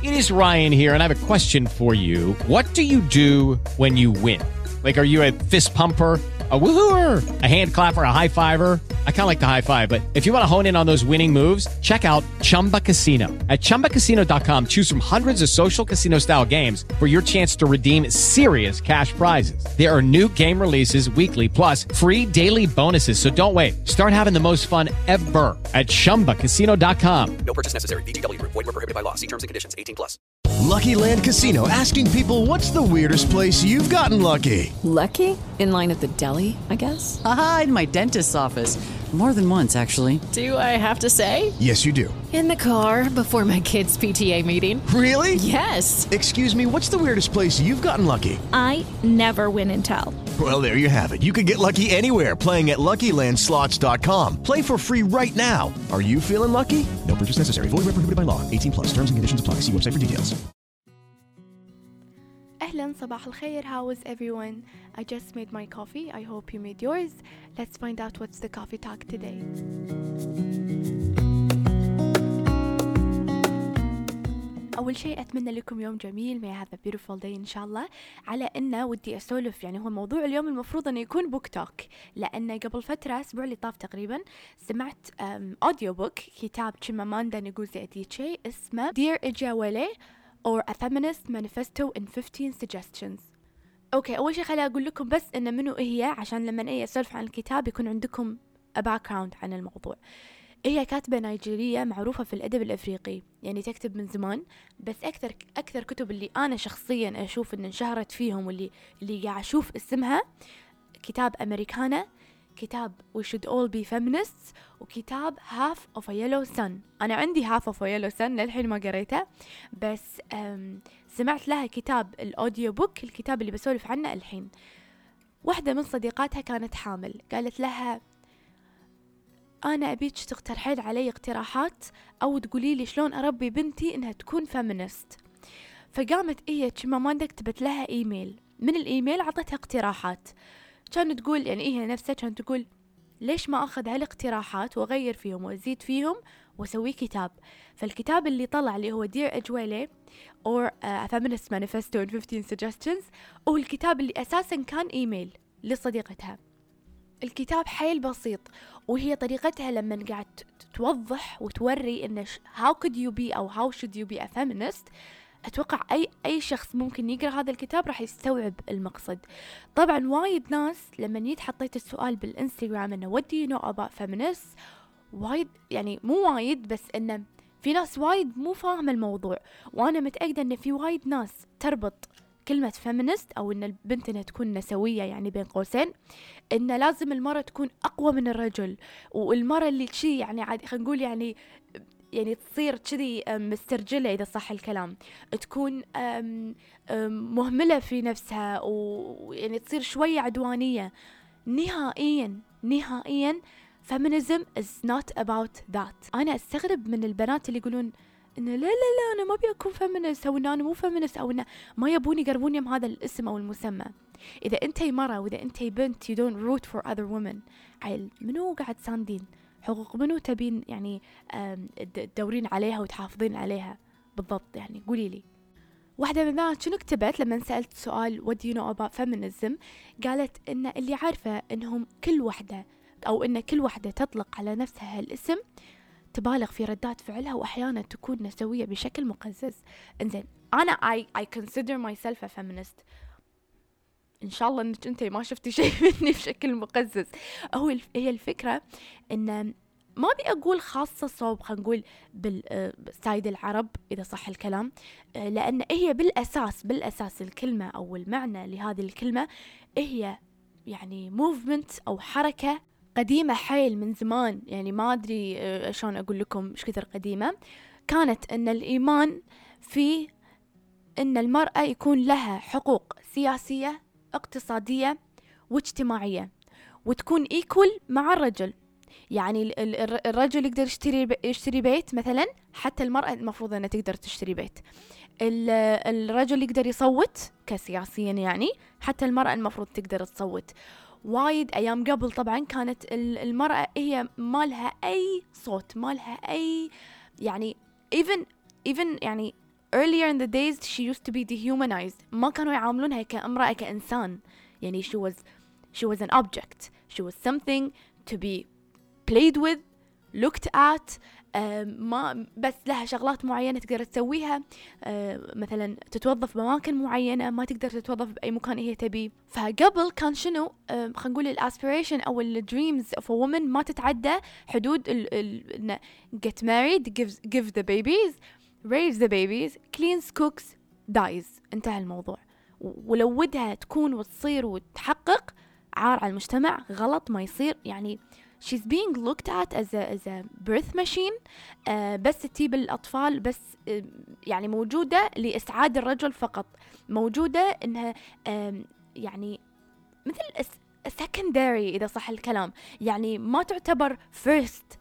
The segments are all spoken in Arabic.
It is Ryan here, and I have a question for you. What do you do when you win? Like, are you a fist pumper, a woo-hooer, a hand clapper, a high fiver? I kind of like the high five, but if you want to hone in on those winning moves, check out Chumba Casino. At ChumbaCasino.com, choose from hundreds of social casino-style games for your chance to redeem serious cash prizes. There are new game releases weekly, plus free daily bonuses, so don't wait. Start having the most fun ever at ChumbaCasino.com. No purchase necessary. VGW Group. Void where prohibited by law. See terms and conditions. 18+. Lucky Land Casino, asking people, what's the weirdest place you've gotten lucky? Lucky? In line at the deli, I guess? Aha, in my dentist's office. More than once, actually. Do I have to say? Yes, you do. In the car before my kids' PTA meeting. Really? Yes. Excuse me, what's the weirdest place you've gotten lucky? I never win and tell. Well, there you have it. You can get lucky anywhere, playing at LuckyLandSlots.com. Play for free right now. Are you feeling lucky? No purchase necessary. Void where prohibited by law. 18+. Terms and conditions apply. See website for details. أهلا صباح الخير. How is everyone? I just made my coffee. I hope you made yours. Let's find out what's the coffee talk today. أول شيء أتمنى لكم يوم جميل. May I have a beautiful day إن شاء الله. على إنه ودي أسولف، يعني هو موضوع اليوم المفروض أنه يكون بوك توك، لأن قبل فترة أسبوع اللي طاف تقريبا سمعت أوديو بوك كتاب تشيماماندا نغوزي أديتشي اسمه Dear Ijawale or A Feminist Manifesto in 15 Suggestions. أوكي، أول شيء خليني أقول لكم بس إن منو هي، عشان لما أي أسولف عن الكتاب يكون عندكم a background عن الموضوع. هي كاتبة نيجيرية معروفة في الأدب الأفريقي، يعني تكتب من زمان، بس أكثر كتب اللي أنا شخصيا أشوف إن انشهرت فيهم واللي قاعد أشوف اسمها كتاب أمريكانا، كتاب We Should All Be Feminists، وكتاب Half of a Yellow Sun. أنا عندي Half of a Yellow Sun للحين ما قريته، بس سمعت لها كتاب الأوديو بوك، الكتاب اللي بسولف عنه الحين. واحدة من صديقاتها كانت حامل، قالت لها أنا أبيك تقترحين علي اقتراحات أو تقولي لي شلون أربي بنتي إنها تكون فيمينست. فقامت تشيماماندا كتبت لها إيميل، من الإيميل عطتها اقتراحات، كانت تقول يعني هي نفسها كانت تقول ليش ما أخذ هالاقتراحات وأغير فيهم وأزيد فيهم وأسوي كتاب. فالكتاب اللي طلع اللي هو Dear Ijawale or A Feminist Manifesto in 15 Suggestions هو الكتاب اللي أساسا كان إيميل لصديقتها. الكتاب حيل بسيط، وهي طريقتها لما قاعد توضح وتوري إن how could you be أو how should you be a feminist. أتوقع أي شخص ممكن يقرأ هذا الكتاب راح يستوعب المقصد. طبعا وايد ناس لما حطيت السؤال بالإنستغرام إنه what do you know about feminists، وايد يعني مو وايد، بس إنه في ناس وايد مو فاهمة الموضوع، وأنا متأكدة إن في وايد ناس تربط كلمة feminist أو إن البنت إنها تكون نسوية، يعني بين قوسين إن لازم المرأة تكون أقوى من الرجل، والمرأة اللي شي يعني عادي خلينا نقول يعني تصير كذي مسترجلة إذا صح الكلام، تكون مهملة في نفسها، ويعني تصير شوية عدوانية. نهائيا feminism is not about that. أنا أستغرب من البنات اللي يقولون إنه لا أنا ما أبي أكون فيمينست، أو إنه أنا مو فيمينست، أو إنه ما يبوني يقربوني من هذا الاسم أو المسمى. إذا أنتي مرة وإذا أنتي بنت you don't root for other women، عيل منو قاعد ساندين حقوق منو تبين يعني تدورين عليها وتحافظين عليها بالضبط؟ يعني قولي لي. واحدة من البنات شنو كتبت لما سألت سؤال what do you know about feminism، قالت إن اللي عارفة إنهم كل واحدة تطلق على نفسها الاسم تبالغ في ردات فعلها، وأحيانا تكون نسوية بشكل مقزز. إنزين أنا I consider myself a feminist. إن شاء الله إنك أنتي ما شفتي شيء مني بشكل مقزز. هي الفكرة إن ما بي أقول خاصة صوب، خلينا نقول بالسايد العرب إذا صح الكلام، لأن هي بالأساس الكلمة أو المعنى لهذه الكلمة هي يعني movement أو حركة قديمة حيل من زمان. يعني ما أدري شلون أقول لكم إيش كثر قديمة. كانت إن الإيمان في إن المرأة يكون لها حقوق سياسية اقتصادية واجتماعية، وتكون equal مع الرجل. يعني الرجل يقدر يشتري بيت مثلا، حتى المرأة المفروض أنها تقدر تشتري بيت. الرجل يقدر يصوت كسياسيا، يعني حتى المرأة المفروض تقدر تصوت. وايد أيام قبل طبعا كانت المرأة هي ما لها أي صوت، ما لها أي يعني even يعني earlier in the days she used to be dehumanized. ما كانوا يعاملونها كامرأة كإنسان. يعني she was an object. She was something to be played with, looked at. ما بس لها شغلات معينة تقدر تسويها. مثلا تتوظف بأماكن معينة، ما تقدر تتوظف بأي مكان هي تبي. فقبل كان شنو خلينا نقول الاسبيريشن أو الدريمز of a woman ما تتعدى حدود get married, give the babies, raise the babies, cleans, cooks, dies. انتهى الموضوع. ولو ودها تكون وتصير وتحقق، عار على المجتمع، غلط، ما يصير. يعني she's being looked at as a birth machine. بس تجيب الأطفال، بس يعني موجودة لإسعاد الرجل فقط، موجودة إنها يعني مثل secondary إذا صح الكلام. يعني ما تعتبر first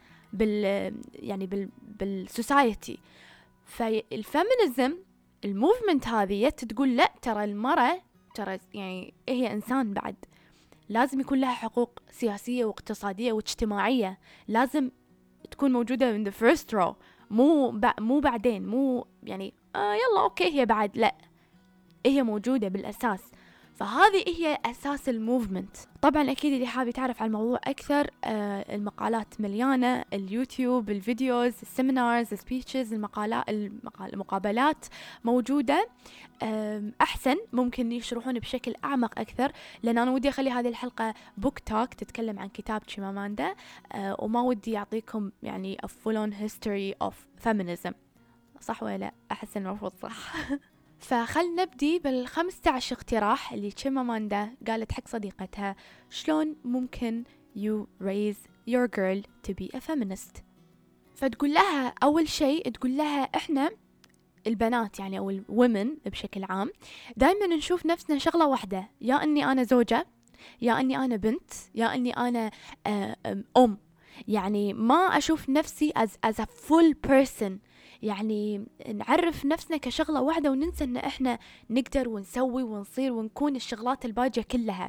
بالسوسايتي. فالفيمينيزم الموفمنت هذه تقول لا، ترى المرأة ترى يعني هي إنسان بعد، لازم يكون لها حقوق سياسية واقتصادية واجتماعية، لازم تكون موجودة in the first row، مو بعدين، مو يعني يلا أوكي هي بعد، لا، هي موجودة بالأساس. فهذه هي أساس الموفمنت. طبعا أكيد اللي حابب يتعرف على الموضوع أكثر، المقالات مليانة، اليوتيوب، الفيديوز، السيمينارز، السبيتشز، المقابلات موجودة. أحسن ممكن يشرحون بشكل أعمق أكثر، لأن أنا ودي أخلي هذه الحلقة بوك توك تتكلم عن كتاب تشيماماندا، وما ودي أعطيكم يعني a full on history of feminism. صح ولا لا؟ أحس المفروض صح. فخل نبدي بال15 اقتراح اللي تشيماماندا قالت حق صديقتها شلون ممكن you raise your girl to be a feminist. فتقول لها أول شيء، تقول لها إحنا البنات يعني أو الwomen بشكل عام دايما نشوف نفسنا شغلة واحدة، يا أني أنا زوجة، يا أني أنا بنت، يا أني أنا أم. يعني ما أشوف نفسي as a full person. يعني نعرف نفسنا كشغلة واحدة وننسى ان احنا نقدر ونسوي ونصير ونكون الشغلات الباجة كلها.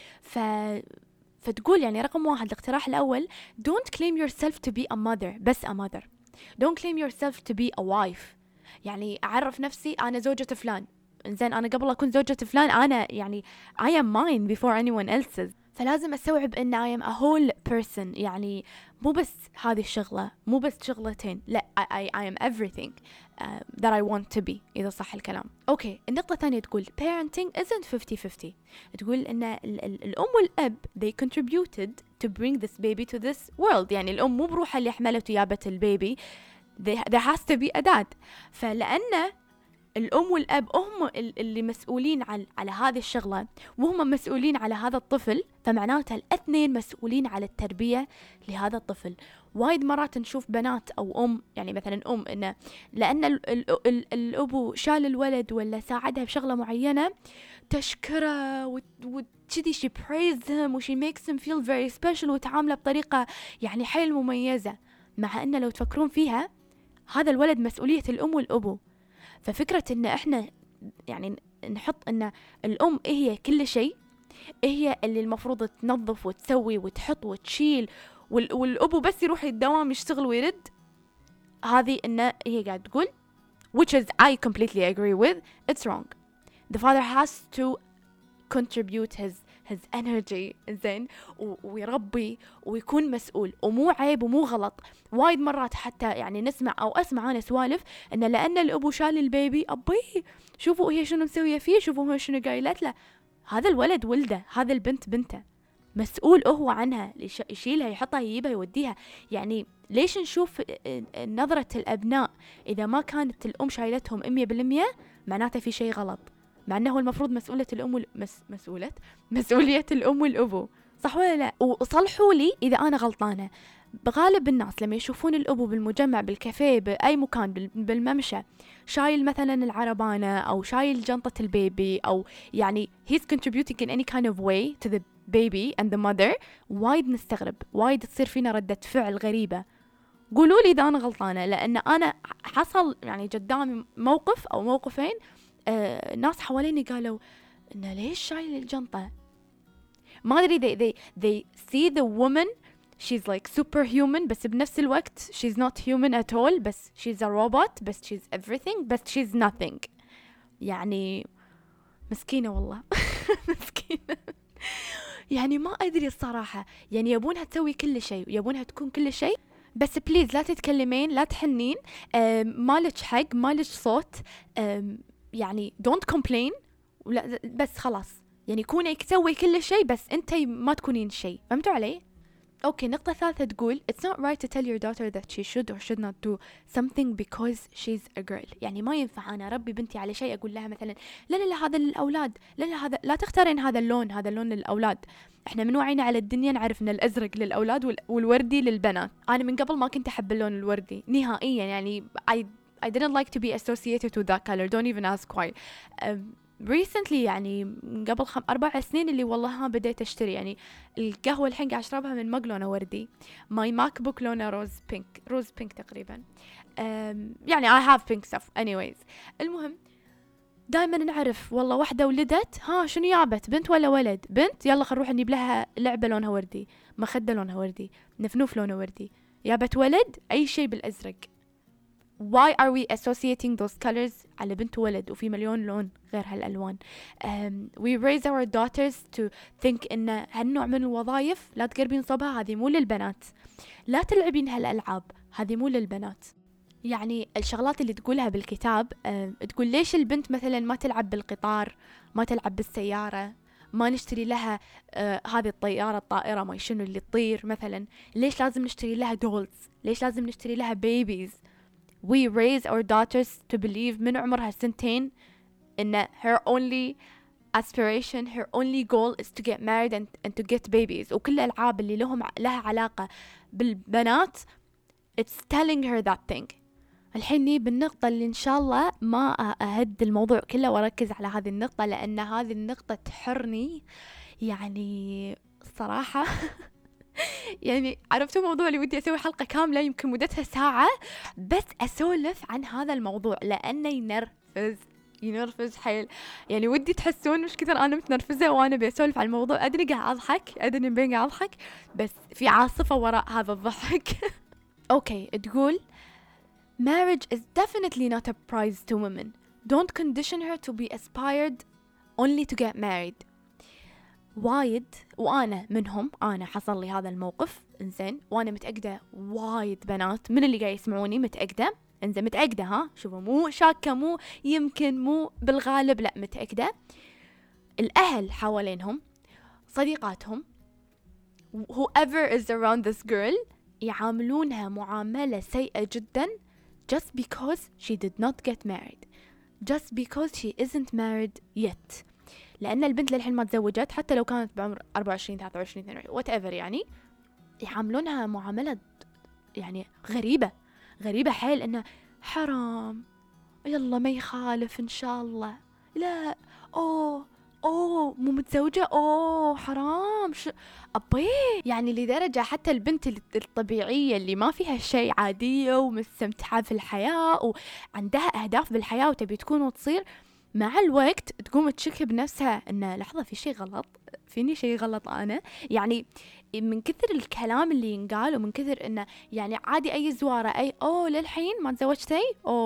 فتقول يعني رقم 1 الاقتراح الأول، don't claim yourself to be a mother، بس a mother. don't claim yourself to be a wife. يعني أعرف نفسي أنا زوجة فلان، إنزين أنا قبل أكون زوجة فلان أنا يعني I am mine before anyone else's. فلازم أستوعب إن I am a whole person. يعني مو بس هذه الشغلة، مو بس شغلتين، لا I am everything that I want to be، إذا صح الكلام. أوكي، النقطة الثانية تقول parenting isn't 50-50. تقول إن الأم والأب they contributed to bring this baby to this world. يعني الأم مو بروحها اللي حملت وجابت البيبي، there has to be a dad. فلأن الأم والأب هم اللي مسؤولين على هذه الشغلة، وهم مسؤولين على هذا الطفل، فمعناتها الاثنين مسؤولين على التربية لهذا الطفل. وايد مرات نشوف بنات أو أم، يعني مثلا أم، إنه لأن الأبو شال الولد ولا ساعدها بشغلة معينة تشكره وتشدي she praise him و she makes him feel very special وتعامله بطريقة يعني حيل مميزة، مع أن لو تفكرون فيها هذا الولد مسؤولية الأم والأبو. ففكرة إن إحنا يعني نحط إن الأم هي كل شيء، هي اللي المفروض تنظف وتسوي وتحط وتشيل، والأبو بس يروح الدوام يشتغل ويرد، هذه إن هي قاعد تقول which is I completely agree with, it's wrong. The father has to contribute his energy زين ويربي ويكون مسؤول، ومو عيب ومو غلط. وايد مرات حتى يعني نسمع أو أسمع أنا سوالف إن لأن الأبو شال البيبي، أبي شوفوا هي شنو مسوية فيه، شوفوا هي شنو قايلت له. هذا الولد ولده، هذا البنت بنته، مسؤول هو عنها، يشيلها يحطها يجيبها يوديها. يعني ليش نشوف نظرة الأبناء إذا ما كانت الأم شايلتهم 100% معناته في شيء غلط، مع أنه المفروض مسؤولية الأم والأبو، صح ولا لا؟ وصلحوا لي إذا أنا غلطانة. بغالب الناس لما يشوفون الأبو بالمجمع، بالكافيه، بأي مكان، بالممشى، شايل مثلا العربانة أو شايل جنطة البيبي، أو يعني he's contributing in any kind of way to the baby and the mother، وايد نستغرب، وايد تصير فينا ردة فعل غريبة. قولوا لي إذا أنا غلطانة، لأن أنا حصل يعني قدامي موقف أو موقفين، ناس حواليني قالوا إنه ليش شايل الجنطة، ما أدري they see the woman she's like superhuman بس بنفس الوقت she's not human at all بس she's a robot بس she's everything بس she's nothing. يعني مسكينة والله. مسكينة. يعني ما أدري الصراحة، يعني يبونها تسوي كل شيء، يبونها تكون كل شيء، بس بليز لا تتكلمين، لا تحنين، مالك حق، مالك صوت، يعني don't complain، بس خلاص يعني كوني تسوي كل شيء بس انتي ما تكونين شيء. فهمتوا علي؟ اوكي. نقطة ثالثة تقول it's not right to tell your daughter that she should or should not do something because she's a girl. يعني ما ينفع انا اربي بنتي على شيء اقول لها مثلا لا لا لا هذا للاولاد، لا لا هذا لا تختارين هذا اللون، هذا اللون للاولاد. احنا من وعينا على الدنيا نعرف ان الازرق للاولاد والوردي للبنات. انا من قبل ما كنت احب اللون الوردي نهائيا، يعني I didn't like to be associated with that color. Don't even ask why. recently يعني قبل 4 سنين اللي والله بديت اشتري يعني القهوة الحين قاعد اشربها من مج لونه وردي، ماي ماك بوك لونه روز بينك تقريبا. يعني I have pink stuff anyways. المهم دائما نعرف والله واحدة ولدت، ها شنو يابت، بنت ولا ولد؟ بنت، يلا خل نروح نجيب لها لعبة لونها وردي، مخدة لونها وردي، نفنوف لونه وردي. يابت ولد، اي شيء بالازرق. why are we associating those colors على بنت وولد وفي مليون لون غير هالألوان؟ we raise our daughters to think إن هالنوع من الوظائف لا تقربين صبها، هذه مو للبنات، لا تلعبين هالألعاب، هذه مو للبنات. يعني الشغلات اللي تقولها بالكتاب، تقول ليش البنت مثلا ما تلعب بالقطار، ما تلعب بالسيارة، ما نشتري لها هذه الطائرة ما شنو اللي تطير مثلا، ليش لازم نشتري لها دولز، ليش لازم نشتري لها بيبيز. we raise our daughters to believe من عمرها 2 إن her only aspiration, her only goal is to get married and to get babies. وكل الألعاب اللي لها علاقة بالبنات it's telling her that thing. الحين بالنقطة اللي إن شاء الله ما أهد الموضوع كله وأركز على هذه النقطة، لأن هذه النقطة تحرني يعني الصراحة. يعني عرفتوا موضوع اللي ودي أسوي حلقة كاملة يمكن مدتها ساعة بس أسولف عن هذا الموضوع، لأنه ينرفز حيل. يعني ودي تحسون مش كثر أنا متنرفزة وأنا بسولف عن الموضوع، أدري قاعد أضحك، أدري بين قاعد أضحك بس في عاصفة وراء هذا الضحك. أوكي. تقول marriage is definitely not a prize to women. Don't condition her to be aspired only to get married. وايد وأنا منهم، أنا حصل لي هذا الموقف إنزين، وأنا متأكدة وايد بنات من اللي قاعد يسمعوني متأكدة إنزين، متأكدة ها، شوفوا مو شاكة، مو يمكن، مو بالغالب، لا متأكدة. الأهل حوالينهم، صديقاتهم، whoever is around this girl يعاملونها معاملة سيئة جدا just because she did not get married, just because she isn't married yet. لأن البنت للحين ما تزوجت، حتى لو كانت بعمر 24 23 22 whatever، يعني يعاملونها معاملة يعني غريبة حيل، إنه حرام، يلا ما يخالف إن شاء الله، لا مو متزوجة، حرام، أبي. يعني لدرجة حتى البنت الطبيعية اللي ما فيها شيء، عادية ومستمتعة في الحياة وعندها أهداف بالحياة وتبي تكون وتصير، مع الوقت تقوم تشك بنفسها إن لحظة في شيء غلط، فيني شيء غلط أنا. يعني من كثر الكلام اللي ينقال ومن كثر إنه يعني عادي أي زوارة، أي للحين ما تزوجتي،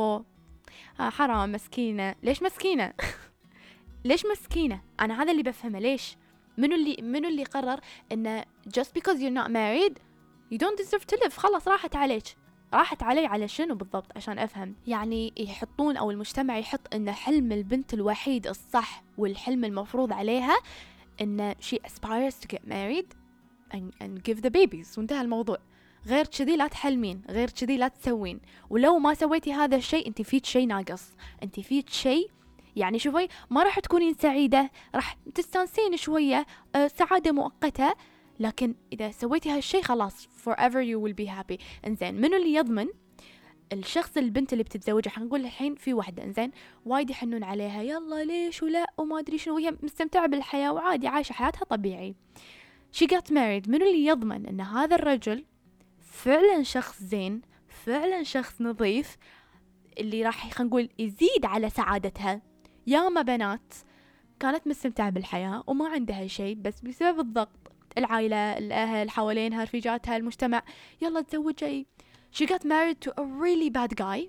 حرام، مسكينة. ليش مسكينة؟ ليش مسكينة؟ أنا هذا اللي بفهمه. ليش؟ منو اللي قرر إنه just because you're not married you don't deserve to live؟ خلاص راحت علي على شنو بالضبط عشان أفهم؟ يعني يحطون أو المجتمع يحط إن حلم البنت الوحيد الصح والحلم المفروض عليها إن she aspires to get married and give the babies، وانتهى الموضوع. غير كذي لا تحلمين، غير كذي لا تسوين، ولو ما سويتي هذا الشيء انت فيك شيء ناقص، انت فيك شيء يعني شوفي ما راح تكونين سعيدة، راح تستانسين شوية، سعادة مؤقتة، لكن إذا سويتي هالشيء خلاص forever you will be happy. إنزين منو اللي يضمن الشخص البنت اللي بتتزوجها؟ حنقول الحين في واحدة إنزين وايد يحنون عليها، يلا ليش ولا وما أدري شنو، وهي مستمتعة بالحياة وعادي عايشة حياتها طبيعي. she got married. منو اللي يضمن أن هذا الرجل فعلا شخص زين، فعلا شخص نظيف، اللي راح خلينا نقول يزيد على سعادتها؟ ياما بنات كانت مستمتعة بالحياة وما عندها شيء، بس بسبب الضغط العائلة، الأهل حوالينها، رفيجاتها، المجتمع، يلا تزوجي. she got married to a really bad guy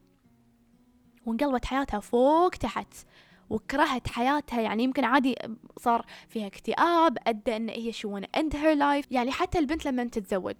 وانقلبت حياتها فوق تحت وكرهت حياتها. يعني يمكن عادي صار فيها اكتئاب أدى أن هي she wanna end her life. يعني حتى البنت لما تتزوج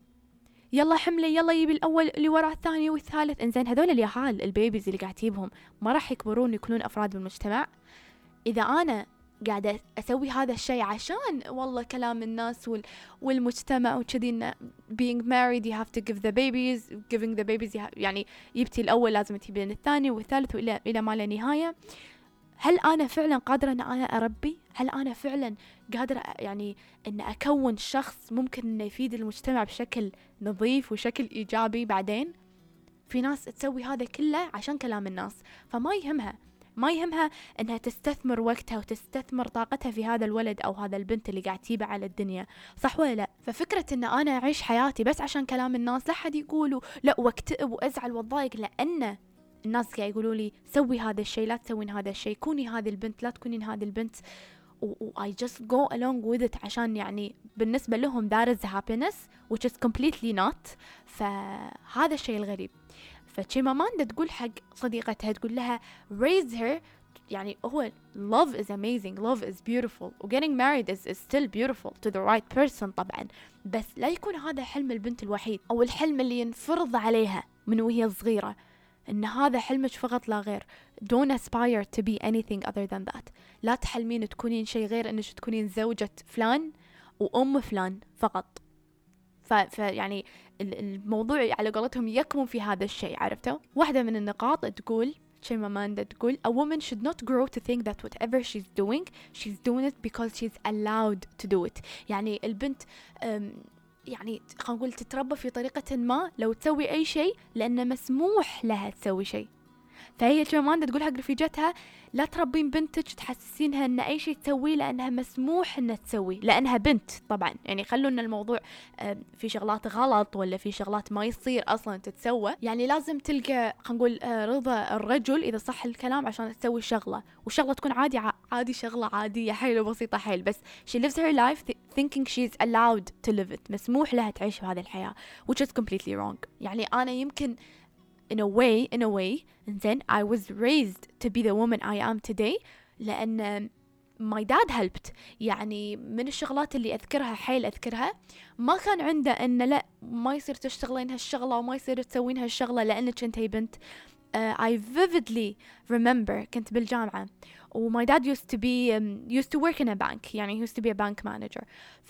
يلا حملة، يلا يبي الأول اللي وراه الثاني والثالث. إنزين هذول اليهال البيبيز اللي قاعد تجيبهم ما راح يكبرون يكونون أفراد بالمجتمع. إذا أنا قاعدة أسوي هذا الشيء عشان والله كلام الناس والمجتمع وكذي إنه being married you have to give the babies, giving the babies يعني يبتي الأول لازم تجيبين الثاني والثالث وإلى ما لا نهاية. هل أنا فعلا قادرة أن أنا أربي؟ هل أنا فعلا قادرة يعني أن أكون شخص ممكن أن يفيد المجتمع بشكل نظيف وشكل إيجابي بعدين؟ في ناس تسوي هذا كله عشان كلام الناس، فما يهمها أنها تستثمر وقتها وتستثمر طاقتها في هذا الولد أو هذا البنت اللي قاعد تجيبه على الدنيا، صح ولا لا؟ ففكرة أن أنا أعيش حياتي بس عشان كلام الناس، لا حد يقولوا لا واكتئب وأزعل واتضايق لأن الناس قاعد يقولوا لي سوي هذا الشيء لا تسوين هذا الشيء، كوني هذه البنت لا تكونين هذه البنت، I just go along with it عشان يعني بالنسبة لهم that is happiness which is completely not. فهذا الشيء الغريب. فتشيماماندا تقول حق صديقتها تقول لها raise her، يعني هو love is amazing, love is beautiful و getting married is still beautiful to the right person طبعا، بس لا يكون هذا حلم البنت الوحيد أو الحلم اللي ينفرض عليها من وهي صغيرة، إن هذا حلمك فقط لا غير. don't aspire to be anything other than that. لا تحلمين تكونين شيء غير إنك تكونين زوجة فلان وأم فلان فقط. يعني الموضوع على قولتهم يكمن في هذا الشيء، عرفتوا؟ واحدة من النقاط تقول شيماماندا تقول a woman should not grow to think that whatever she's doing it because she's allowed to do it. يعني البنت يعني خلينا نقول تتربى في طريقة ما لو تسوي أي شيء لأنه مسموح لها تسوي شيء. فهي شيماماندا تقول حق رفيجتها لا تربين بنتك تحسسينها ان اي شيء تسويه لانها مسموح انها تسويه لانها بنت. طبعا يعني خلوا ان الموضوع في شغلات غلط ولا في شغلات ما يصير اصلا تتسوى، يعني لازم تلقى خلينا نقول رضا الرجل اذا صح الكلام عشان تسوي شغله، وشغله تكون عادي شغله عاديه حيل وبسيطه حيل، بس she lives her life thinking she's allowed to live it، مسموح لها تعيش بهذه الحياه which is completely wrong. يعني انا يمكن in a way then I was raised to be the woman I am today لأن my dad helped. يعني من الشغلات اللي أذكرها ما كان عنده إن لا ما يصير تشتغلين هالشغلة وما يصير تسوين هالشغلة لأنك أنتي بنت. I vividly remember كنت بالجامعة و my dad used to work in a bank، يعني he used to be a bank manager.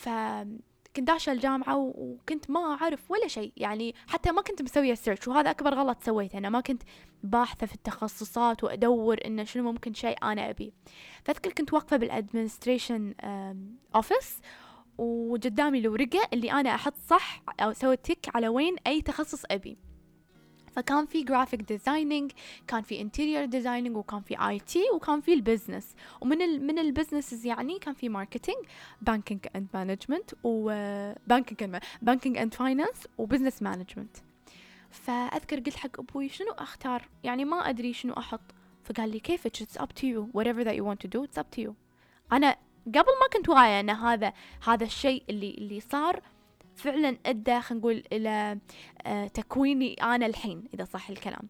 كنت داشة الجامعة وكنت ما أعرف ولا شيء، يعني حتى ما كنت مسوية سيرش، وهذا أكبر غلط سويته. أنا ما كنت باحثة في التخصصات وأدور إنه شنو ممكن شيء أنا أبي. فأذكر كنت واقفة بالأدمنستريشن أوفيس وقدامي الورقة اللي أنا أحط صح أو سوي تيك على وين أي تخصص أبي. فكان في graphic designing، كان في interior designing، وكان في IT، وكان في البزنس. ومن البزنسز يعني كان في marketing، banking and management، و banking and finance، وbusiness management. فأذكر قلت حق أبوي شنو أختار، يعني ما أدري شنو أحط. فقال لي كيف it's up to you whatever that you want to do it's up to you. أنا قبل ما كنت واعية أن هذا الشيء اللي صار فعلا أدى خلينا نقول إلى تكويني أنا الحين إذا صح الكلام.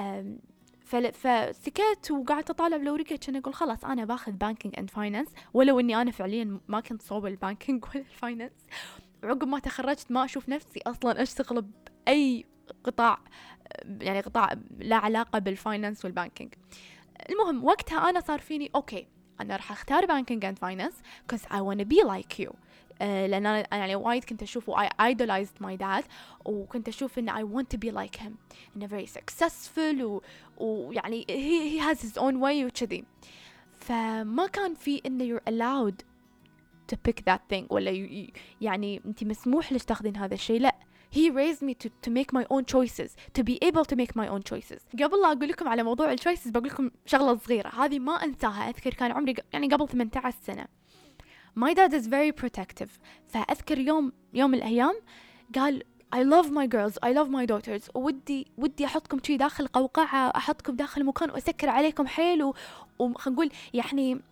فسكت وقعدت أطالع بلوريكة كان أقول خلاص أنا باخذ banking and finance، ولو إني أنا فعليا ما كنت صوب البانكينج ولا الفاينانس. عقب ما تخرجت ما أشوف نفسي أصلا أشتغل بأي قطاع، يعني قطاع لا علاقة بالفاينانس والبانكينج. المهم وقتها أنا صار فيني أوكي أنا راح أختار banking and finance because I want to be like you. لأن أنا يعني وايد كنت أشوف I idolized my dad، وكنت أشوف إن I want to be like him إنه very successful ويعني he has his own way وكذي. فما كان في إنه you're allowed to pick that thing ولا يعني أنت مسموح لك تاخذين هذا الشيء، لا. He raised me to make my own choices, to be able to make my own choices. قبل لا أقول لكم على موضوع الchoices بقول لكم شغلة صغيرة هذه ما أنساها. أذكر كان عمري يعني قبل 18 سنة. My dad is very protective. فأذكر يوم من الأيام قال I love my girls, I love my daughters. ودي أحطكم شيء داخل قوقعة، أحطكم داخل مكان وأسكر عليكم حيل وخلينا نقول يعني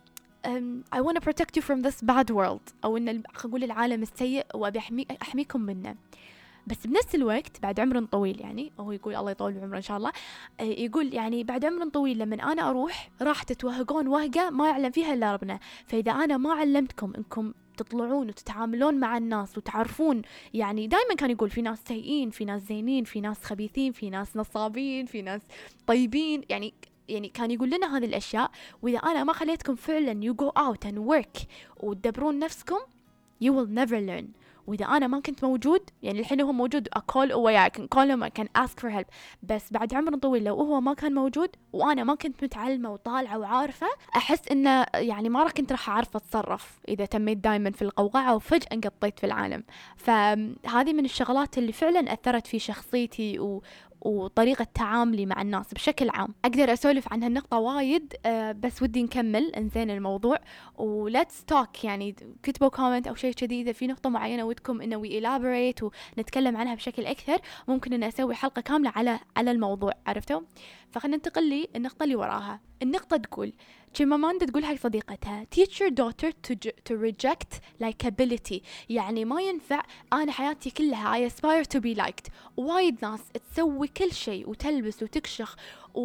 I want to protect you from this bad world، أو إن أقول العالم السيء وأبي أحميكم منه. بس بنفس الوقت بعد عمر طويل، يعني هو يقول الله يطول بعمره إن شاء الله، يقول يعني بعد عمر طويل لما أنا أروح راح تتوهقون وهقة ما يعلم فيها إلا ربنا. فإذا أنا ما علمتكم إنكم تطلعون وتتعاملون مع الناس وتعرفون، يعني دائما كان يقول في ناس سيئين، في ناس زينين، في ناس خبيثين، في ناس نصابين، في ناس طيبين، يعني كان يقول لنا هذه الأشياء. وإذا أنا ما خليتكم فعلا you go out and work وتدبرون نفسكم you will never learn. وإذا أنا ما كنت موجود، يعني الحين هو موجود I call away, I can call him, I can ask for help، بس بعد عمر طويل لو هو ما كان موجود وأنا ما كنت متعلمة وطالعة وعارفة، أحس إنه يعني ما كنت راح أعرف أتصرف إذا تميت دايما في القوقعة وفجأة انقطيت في العالم. فهذه من الشغلات اللي فعلا أثرت في شخصيتي وطريقة تعاملي مع الناس بشكل عام. أقدر أسولف عن هالنقطة وايد، بس ودي نكمل انزين الموضوع ولتس توك. يعني كتبوا كومنت أو شيء كذي إذا في نقطة معينة ودكم إنه we elaborate ونتكلم عنها بشكل أكثر، ممكن إن أسوي حلقة كاملة على الموضوع، عرفتوا؟ فخلنا ننتقل لي النقطة اللي وراها. النقطة تقول تشيماماندا تقول هاي صديقتها teach your daughter to reject likability، يعني ما ينفع أنا حياتي كلها I aspire to be liked. وايد ناس تسوي كل شيء وتلبس وتكشخ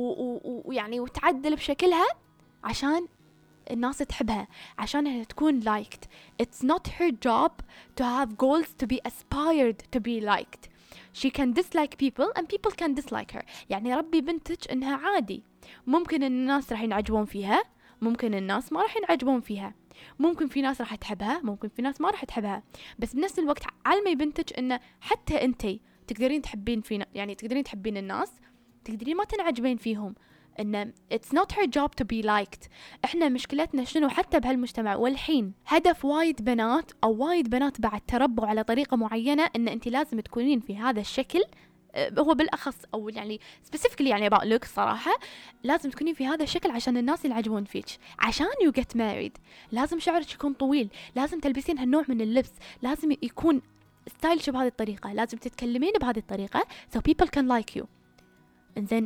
ويعني وتعدل بشكلها عشان الناس تحبها، عشانها تكون liked. It's not her job to have goals to be aspired to be liked. She can dislike people and people can dislike her. يعني ربي بنتك إنها عادي، ممكن إن الناس راح ينعجبون فيها، ممكن الناس ما راح ينعجبون فيها، ممكن في ناس راح تحبها، ممكن في ناس ما راح تحبها. بس بنفس الوقت علمي بنتك إنه حتى أنتي تقدرين تحبين فينا، يعني تقدرين تحبين الناس، تقدرين ما تنعجبين فيهم. إن it's not her job to be liked. إحنا مشكلتنا شنو حتى بهالمجتمع والحين هدف وايد بنات أو وايد بنات بعد تربوا على طريقة معينة إن أنت لازم تكونين في هذا الشكل، هو بالأخص أو يعني specifically يعني about looks صراحة، لازم تكونين في هذا الشكل عشان الناس ينعجبون فيك. عشان you get married لازم شعرك يكون طويل، لازم تلبسين هالنوع من اللبس، لازم يكون ستايلش بهذه الطريقة، لازم تتكلمين بهذه الطريقة so people can like you. إنزين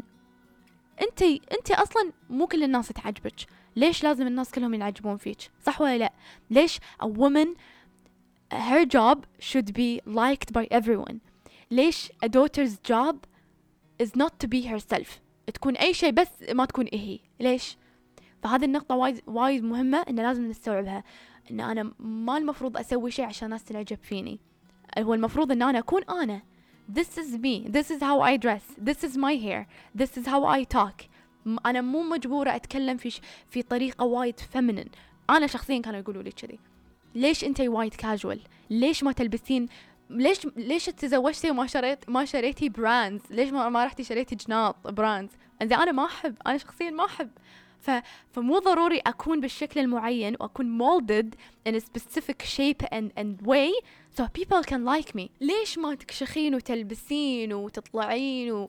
انت اصلا مو كل الناس تعجبك، ليش لازم الناس كلهم ينعجبون فيك؟ صح ولا لا؟ ليش a woman her job should be liked by everyone؟ ليش a daughter's job is not to be herself، تكون اي شيء بس ما تكون هي؟ ليش؟ فهذه النقطة وايد مهمة ان لازم نستوعبها، ان انا ما المفروض اسوي شيء عشان الناس تنعجب فيني، هو المفروض ان انا اكون انا. This is me, this is how I dress, this is my hair, this is how I talk. أنا مو مجبورة أتكلم في طريقة وايد feminine. أنا شخصيا كانوا يقولوا لي كذي، ليش أنتي وايد casual؟ ليش ما تلبسين؟ ليش تزوجتي وما شريتي براندز؟ ليش ما رحتي شريتي جناط براندز؟ أنا ما أحب، أنا شخصيا ما أحب. فمو ضروري أكون بالشكل المعين وأكون molded in a specific shape and way so people can like me. ليش ما تكشخين وتلبسين وتطلعين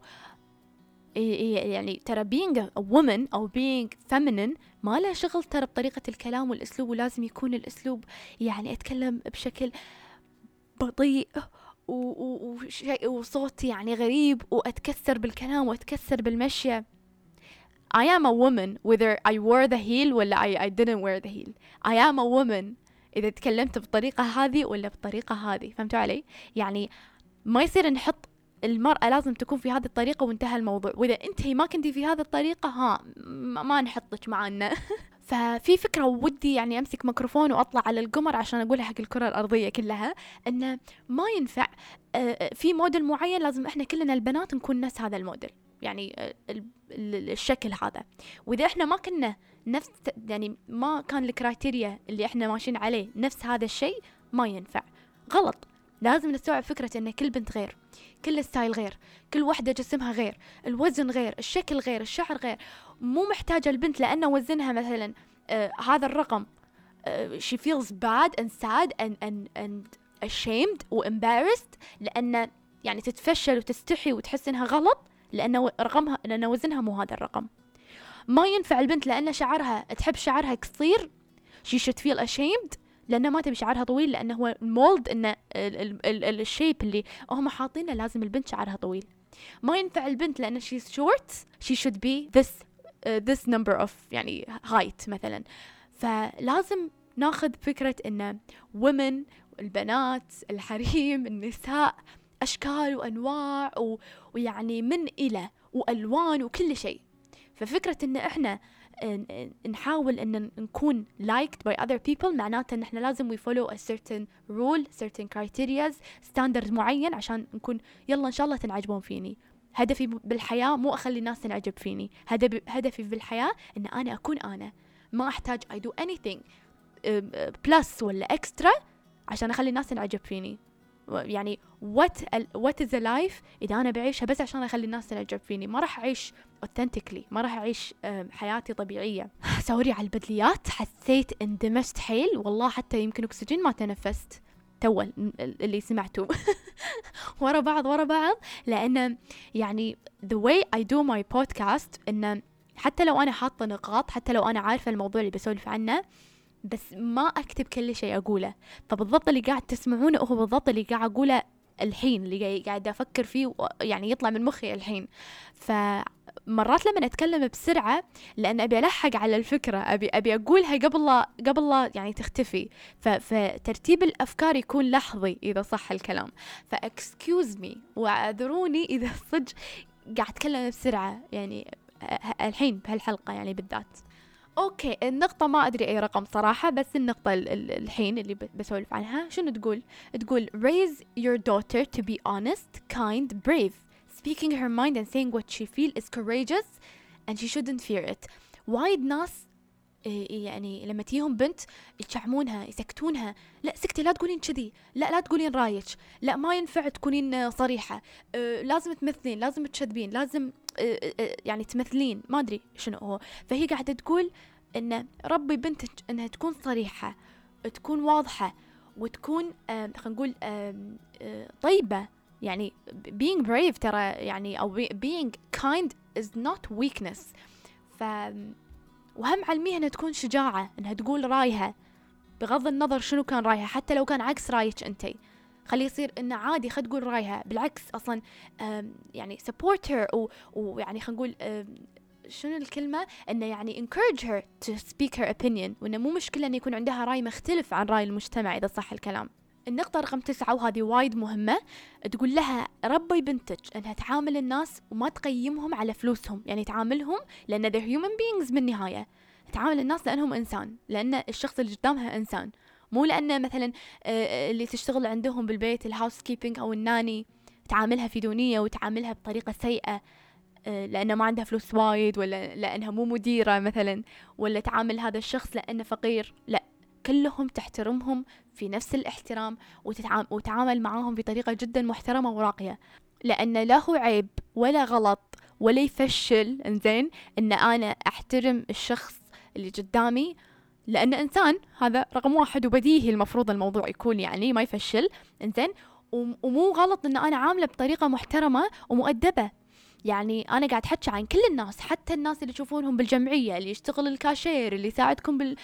يعني ترى being a woman أو being feminine ما له شغل ترى بطريقة الكلام والأسلوب، ولازم يكون الأسلوب يعني أتكلم بشكل بطيء وصوتي يعني غريب وأتكسر بالكلام وأتكسر بالمشية. I am a woman whether I wore the heel ولا I didn't wear the heel. I am a woman إذا تكلمت بالطريقة هذه ولا بالطريقة هذه. فهمتوا علي؟ يعني ما يصير نحط المرأة لازم تكون في هذه الطريقة وانتهى الموضوع، وإذا أنتي ما كنتي في هذه الطريقة ما نحطك معنا. ففي فكرة ودي يعني أمسك ميكروفون وأطلع على القمر عشان أقولها حق الكرة الأرضية كلها، إنه ما ينفع في موديل معين لازم إحنا كلنا البنات نكون نفس هذا الموديل، يعني الشكل هذا. وإذا إحنا ما كنا نفس، يعني ما كان الكرايتيريا اللي إحنا ماشيين عليه نفس هذا الشيء، ما ينفع، غلط. لازم نستوعب فكرة إن كل بنت غير، كل ستايل غير، كل واحدة جسمها غير، الوزن غير، الشكل غير، الشعر غير. مو محتاجة البنت لأن وزنها مثلا هذا الرقم she feels bad and sad and ashamed و embarrassed لأن يعني تتفشل وتستحي وتحس إنها غلط لأن وزنها مو هذا الرقم. ما ينفع البنت لأن شعرها تحب شعرها قصير she should feel ashamed لأنه ما تبي شعرها طويل، لأنه هو المولد إنه الشيب اللي هم حاطينه لازم البنت شعرها طويل. ما ينفع البنت لأن she's short she should be this number of يعني height مثلا. فلازم ناخذ فكرة إن women، البنات، الحريم، النساء أشكال وأنواع ويعني من إلى وألوان وكل شيء. ففكرة إن إحنا نحاول إن نكون liked by other people معناته إن إحنا لازم we follow a certain rule, certain criteria, standard معين عشان نكون يلا إن شاء الله تنعجبون فيني. هدفي بالحياة مو أخلي الناس تنعجب فيني، هدفي بالحياة إن أنا أكون أنا، ما أحتاج I do anything plus ولا extra عشان أخلي الناس تنعجب فيني. يعني what is a life إذا أنا بعيشها بس عشان أخلي الناس تنعجب فيني؟ ما راح أعيش authentically، ما راح أعيش حياتي طبيعية. سوري على البدليات، حسيت اندمجت حيل والله، حتى يمكن أكسجين ما تنفست تول اللي سمعتوه ورا بعض، لأن يعني the way I do my podcast إن حتى لو أنا حاطة نقاط، حتى لو أنا عارفة الموضوع اللي بسولف عنه، بس ما أكتب كل شيء أقوله. فبالضبط اللي قاعد تسمعونه هو بالضبط اللي قاعد أقوله الحين، اللي قاعد أفكر فيه يعني يطلع من مخي الحين. فمرات لما أتكلم بسرعة لأن أبي ألحق على الفكرة، أبي أقولها قبل لا يعني تختفي، فترتيب الأفكار يكون لحظي إذا صح الكلام. فاكسكيوز مي وأعذروني إذا صدق قاعد أتكلم بسرعة يعني الحين بهالحلقة يعني بالذات. اوكي، النقطة ما ادري اي رقم صراحة، بس النقطة الحين اللي بسولف عنها شنو تقول raise your daughter to be honest, kind, brave, speaking her mind and saying what she feel is courageous and she shouldn't fear it. وايد ناس يعني لما تيهم بنت يشعمونها يسكتونها، لا سكتي، لا تقولين كذي، لا تقولين رايك، لا ما ينفع تكونين صريحة، لازم تمثلين، لازم تشذبين، لازم يعني تمثلين، ما أدري شنو هو. فهي قاعدة تقول إن ربي بنتك إنها تكون صريحة، تكون واضحة، وتكون خلينا نقول طيبة. يعني being brave ترى يعني أو being kind is not weakness. وهم علميها إنها تكون شجاعة، إنها تقول رايها بغض النظر شنو كان رايها، حتى لو كان عكس رايك أنتي، خليه يصير إنه عادي، خد تقول رايها، بالعكس أصلاً يعني support her ويعني خلينا نقول شنو الكلمة، إنه يعني encourage her to speak her opinion، وإنه مو مشكلة إن يكون عندها رأي مختلف عن رأي المجتمع إذا صح الكلام. النقطة رقم 9 وهذه وايد مهمة، تقول لها ربي بنتك إنها تعامل الناس وما تقيمهم على فلوسهم، يعني تعاملهم لأن they're human beings بالنهاية، تعامل الناس لأنهم إنسان، لأن الشخص اللي قدامها إنسان، مو لأن مثلا اللي تشتغل عندهم بالبيت الهاوس كيبينج أو الناني تعاملها في دونية وتعاملها بطريقة سيئة لأنه ما عندها فلوس وايد، ولا لأنها مو مديرة مثلا، ولا تعامل هذا الشخص لأنه فقير. لا، كلهم تحترمهم في نفس الاحترام وتعامل معاهم بطريقة جدا محترمة وراقية، لأن لا هو عيب ولا غلط ولا يفشل إنزين إن أنا أحترم الشخص اللي قدامي لأنه إنسان، هذا رقم 1 وبديهي المفروض الموضوع يكون يعني ما يفشل إنزين. ومو غلط إن أنا عاملة بطريقة محترمة ومؤدبة. يعني أنا قاعد حكي عن كل الناس، حتى الناس اللي تشوفونهم بالجمعية، اللي يشتغل الكاشير، اللي يساعدكم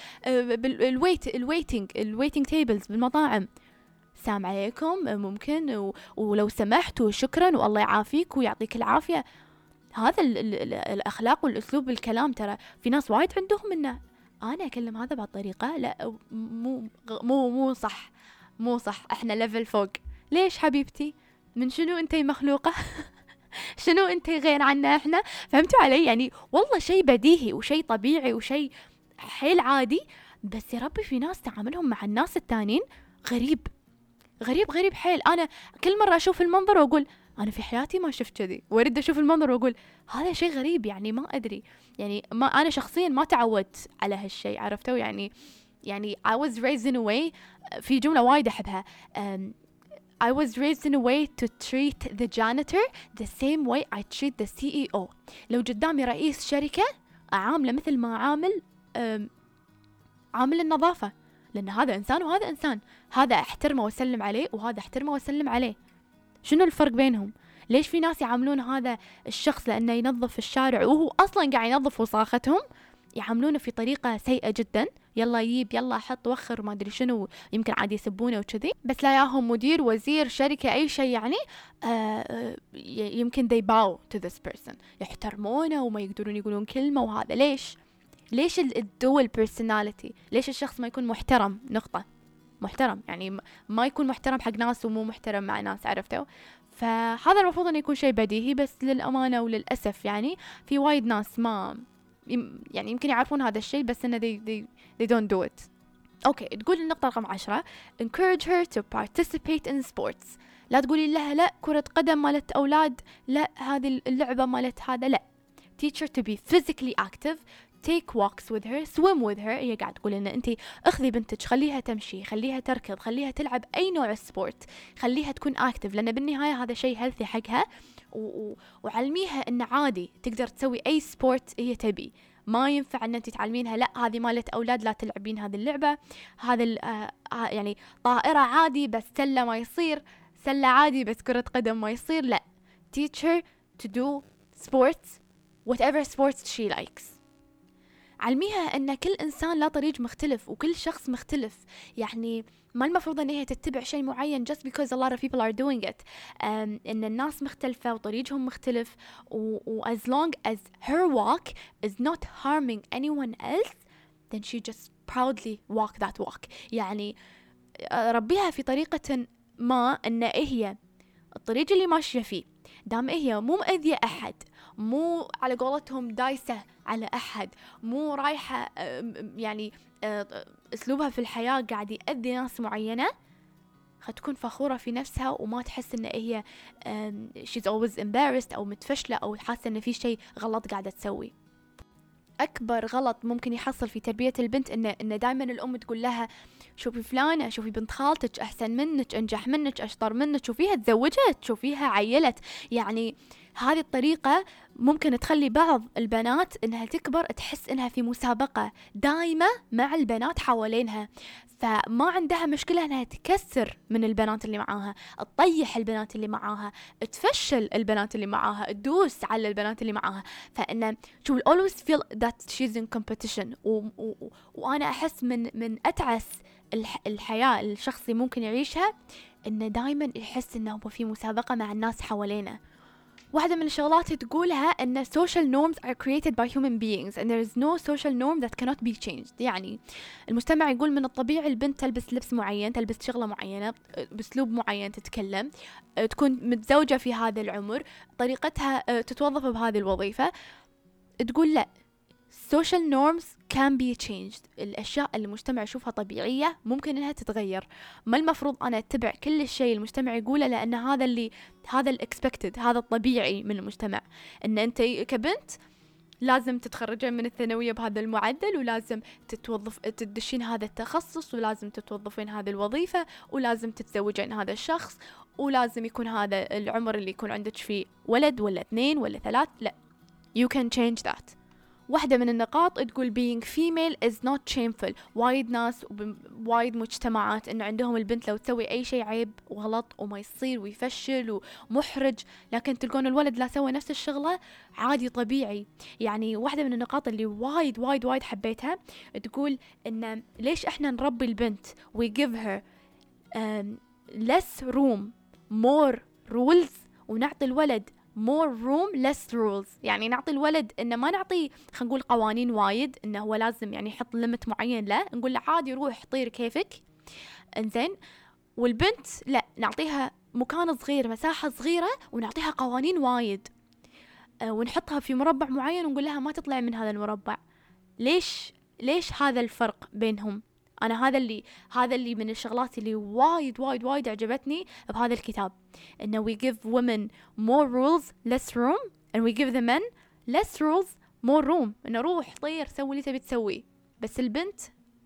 بالويتنج تيبلز بالمطاعم، سلام عليكم ممكن ولو سمحت وشكرا والله يعافيك ويعطيك العافية. هذا الأخلاق والأسلوب بالكلام. ترى في ناس وايد عندهم إنه أنا أكلم هذا بهالطريقة، لا مو صح، إحنا ليفل فوق. ليش حبيبتي؟ من شنو أنتي مخلوقة؟ شنو أنتي غير عنا إحنا؟ فهمتوا علي؟ يعني والله شيء بديهي وشيء طبيعي وشيء حيل عادي، بس يا ربي في ناس تعاملهم مع الناس التانين غريب حيل. أنا كل مرة أشوف المنظر وأقول أنا في حياتي ما شفت كذي، وأرد أشوف المنظر وأقول هذا شيء غريب، يعني ما أدري، يعني ما أنا شخصيا ما تعودت على هالشيء، عرفتوا؟ يعني I was raised in a way، في جملة وايد أحبها، I was raised in a way to treat the janitor the same way I treat the CEO. لو قدامي رئيس شركة أعامله مثل ما عامل النظافة، لأن هذا إنسان وهذا إنسان، هذا أحترمه وأسلم عليه وهذا أحترمه وأسلم عليه. شنو الفرق بينهم؟ ليش في ناس يعاملون هذا الشخص لأنه ينظف الشارع وهو أصلاً قاعد ينظف وساختهم يعاملونه في طريقة سيئة جدا، يلا يجيب يلا حط وخر ما أدري شنو، يمكن عادي يسبونه وكذي، بس لا ياهم مدير وزير شركة أي شيء يعني يمكن they bow to this person، يحترمونه وما يقدرون يقولون كلمة. وهذا ليش؟ ليش الدول personality؟ ليش الشخص ما يكون محترم؟ نقطة. محترم يعني ما يكون محترم حق ناس ومو محترم مع ناس، عرفتوا؟ فهذا المفروض أن يكون شيء بديهي، بس للأمانة وللأسف يعني في وايد ناس ما يعني يمكن يعرفون هذا الشيء بس إنه they don't do it. أوكي، تقول النقطة رقم 10 encourage her to participate in sports. لا تقولي لها لا كرة قدم مالت أولاد، لا هذه اللعبة مالت هذا، لا. teach her to be physically active, take walks with her, swim with her. هي قاعد تقول إن أنتي أخذي بنتك، خليها تمشي، خليها تركض، خليها تلعب أي نوع سبورت، خليها تكون active، لأن بالنهاية هذا شيء healthy حقها. وعلميها إن عادي تقدر تسوي أي سبورت هي تبي. ما ينفع أن أنت تعلمينها لا هذه مالت أولاد لا تلعبين هذه اللعبة، هذا يعني طائرة عادي بس سلة ما يصير، سلة عادي بس كرة قدم ما يصير، لا. teach her to do sports whatever sports she likes. علميها أن كل إنسان له طريق مختلف وكل شخص مختلف، يعني ما المفروض أن هي تتبع شيء معين just because a lot of people are doing it. إن الناس مختلفة وطريقهم مختلف as long as her walk is not harming anyone else then she just proudly walk that walk. يعني ربيها في طريقة ما أن هي الطريق اللي ماشية فيه دام هي مو مأذية أحد، مو على قولتهم دايسة على أحد، مو رايحة يعني أسلوبها في الحياة قاعد يأذي ناس معينة، هتكون فخورة في نفسها وما تحس إن هي she's always embarrassed أو متفشلة أو حاسة إن في شيء غلط قاعدة تسوي. أكبر غلط ممكن يحصل في تربية البنت إن دائما الأم تقول لها شوفي فلانة، شوفي بنت خالتك أحسن منك، أنجح منك، أشطر منك، شوفيها تزوجت، شوفيها عيلت. يعني هذه الطريقة ممكن تخلي بعض البنات إنها تكبر تحس إنها في مسابقة دائمة مع البنات حوالينها، فما عندها مشكلة إنها تكسر من البنات اللي معاها، تطيح البنات اللي معاها، تفشل البنات اللي معاها، تدوس على البنات اللي معاها. فإنه she will always feel that she's in competition. وأنا أحس من أتعس الحياة الشخصي ممكن يعيشها إنه دائما يحس إنه هو في مسابقة مع الناس حوالينا. واحدة من الشغلات تقولها أن social norms are created by human beings and there is no social norm that cannot be changed. يعني المجتمع يقول من الطبيعي البنت تلبس لبس معين، تلبس شغلة معينة، بأسلوب معين تتكلم، تكون متزوجة في هذا العمر، طريقتها تتوظف بهذه الوظيفة. تقول لا، social norms can be changed. الأشياء اللي المجتمع يشوفها طبيعية ممكن إنها تتغير. ما المفروض أنا أتبع كل الشيء المجتمع يقوله لأن هذا expected، هذا الطبيعي من المجتمع. إن أنت كبنت لازم تتخرجين من الثانوية بهذا المعدل، ولازم تدشين هذا التخصص، ولازم تتوظفين هذه الوظيفة، ولازم تتزوجين هذا الشخص، ولازم يكون هذا العمر اللي يكون عندك فيه ولد ولا 2 ولا 3. لا، you can change that. واحدة من النقاط تقول being female is not shameful. وايد ناس وايد مجتمعات إنه عندهم البنت لو تسوي أي شيء عيب وغلط وما يصير ويفشل ومحرج، لكن تلقون الولد لا سوى نفس الشغلة عادي طبيعي. يعني واحدة من النقاط اللي وايد وايد وايد حبيتها تقول إن ليش إحنا نربي البنت we give her less room more rules ونعطي الولد more room less rules. يعني نعطي الولد إنه ما نعطي خلينا نقول قوانين وايد إنه هو لازم يعني يحط ليمت معين، لا نقول له عادي روح طير كيفك إنزين. والبنت لا، نعطيها مكان صغير، مساحة صغيرة، ونعطيها قوانين وايد، ونحطها في مربع معين ونقول لها ما تطلع من هذا المربع. ليش هذا الفرق بينهم؟ أنا هذا اللي من الشغلات اللي وايد وايد وايد عجبتني بهذا الكتاب، إنه we give women more rules less room and we give the men less rules more room. إنه روح طير سوي اللي تبي تسوي، بس البنت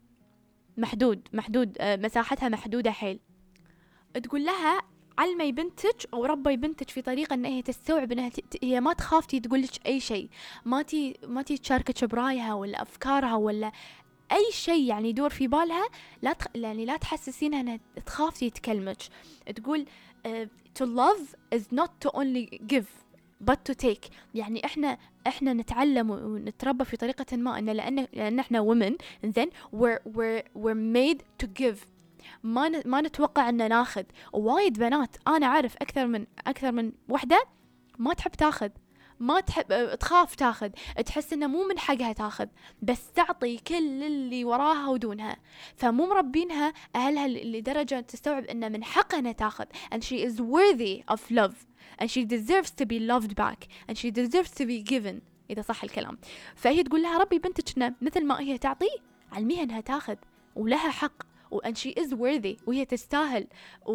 محدود مساحتها محدودة حيل. تقول لها علمي بنتك أو ربي بنتك في طريقة إن هي تستوعب إنها هي ما تخاف تقولك أي شيء، ما تي تشاركك برايها ولا أفكارها ولا أي شيء يعني يدور في بالها. يعني لا تحسسينها أنها تخاف تكلمك. تقول to love is not to only give but to take. يعني إحنا نتعلم ونتربى في طريقة ما إن لأن إحنا women and then we're made to give. ما نتوقع أن ناخذ. وايد بنات أنا أعرف أكثر من وحدة ما تحب تاخذ، ما تحب، تخاف تاخذ، تحس إنه مو من حقها تاخذ، بس تعطي كل اللي وراها ودونها. فمو مربينها أهلها لدرجة تستوعب إنه من حقها إنها تاخذ. And she is worthy of love and she deserves to be loved back and she deserves to be given، إذا صح الكلام. فهي تقول لها ربي بنتك مثل ما هي تعطي، علميها إنها تاخذ ولها حق، and she is worthy، وهي تستاهل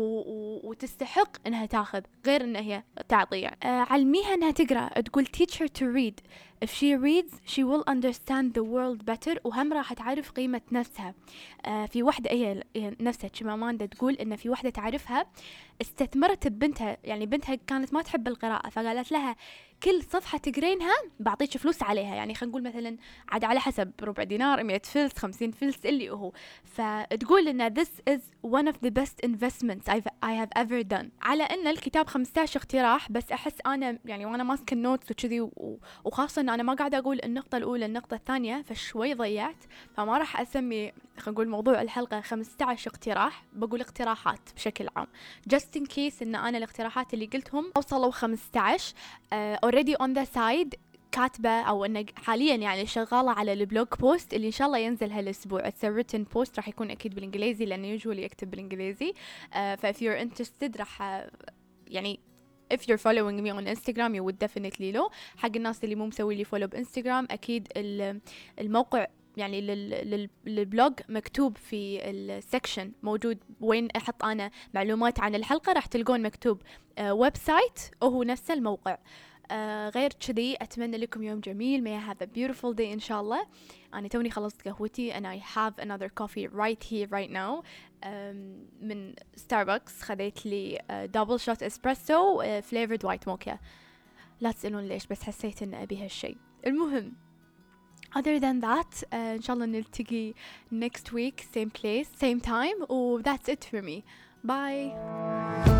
وتستحق إنها تاخذ، غير إنها هي تعطي يعني. علميها إنها تقرأ، تقول teach her to read. If she reads she will understand the world better، وهم راح تعرف قيمة نفسها. في واحدة هي نفسها تشيماماندا تقول إن في واحدة تعرفها استثمرت ببنتها، يعني بنتها كانت ما تحب القراءة، فقالت لها كل صفحة تقرينها بعطيك فلوس عليها، يعني خلينا نقول مثلا عاد على حسب ربع دينار، 100 فلس، 50 فلس، اللي هو. فتقول إن this is one of the best investments I have ever done. على إن الكتاب 15 اقتراح، بس أحس أنا يعني وأنا ماسك النوتس وكذي، وخاصة إن أنا ما قاعدة أقول النقطة الأولى النقطة الثانية، فشوي ضيعت، فما راح أسمي خلينا نقول موضوع الحلقة 15 اقتراح، بقول اقتراحات بشكل عام just in case إن أنا الاقتراحات اللي قلتهم أوصلوا 15. already on the side كاتبة أو أنه حاليا يعني شغالة على البلوج بوست اللي إن شاء الله ينزل هالأسبوع. it's a written post، راح يكون أكيد بالإنجليزي لأنه usually يكتب بالإنجليزي. if you're interested راح يعني if you're following me on Instagram you would definitely know. حق الناس اللي مو مسوي لي follow بإنستغرام، أكيد الموقع يعني للبلوج مكتوب في السكشن موجود وين أحط أنا معلومات عن الحلقة، راح تلقون مكتوب ويب سايت وهو نفس الموقع. غير كذي أتمنى لكم يوم جميل. may I have a beautiful day إن شاء الله. أنا توني خلصت قهوتي and I have another coffee right here right now من ستاربكس. خذيت لي double shot espresso flavored white mocha. لا تسألون ليش، بس حسيت إن أبي هالشي. المهم other than that إن شاء الله نلتقي next week same place same time و that's it for me. bye.